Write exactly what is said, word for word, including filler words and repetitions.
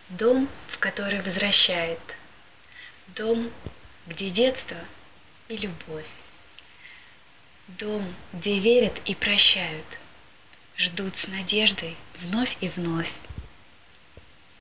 Дом, в который возвращает. Дом, где детство и любовь. Дом, где верят и прощают. Ждут с надеждой вновь и вновь.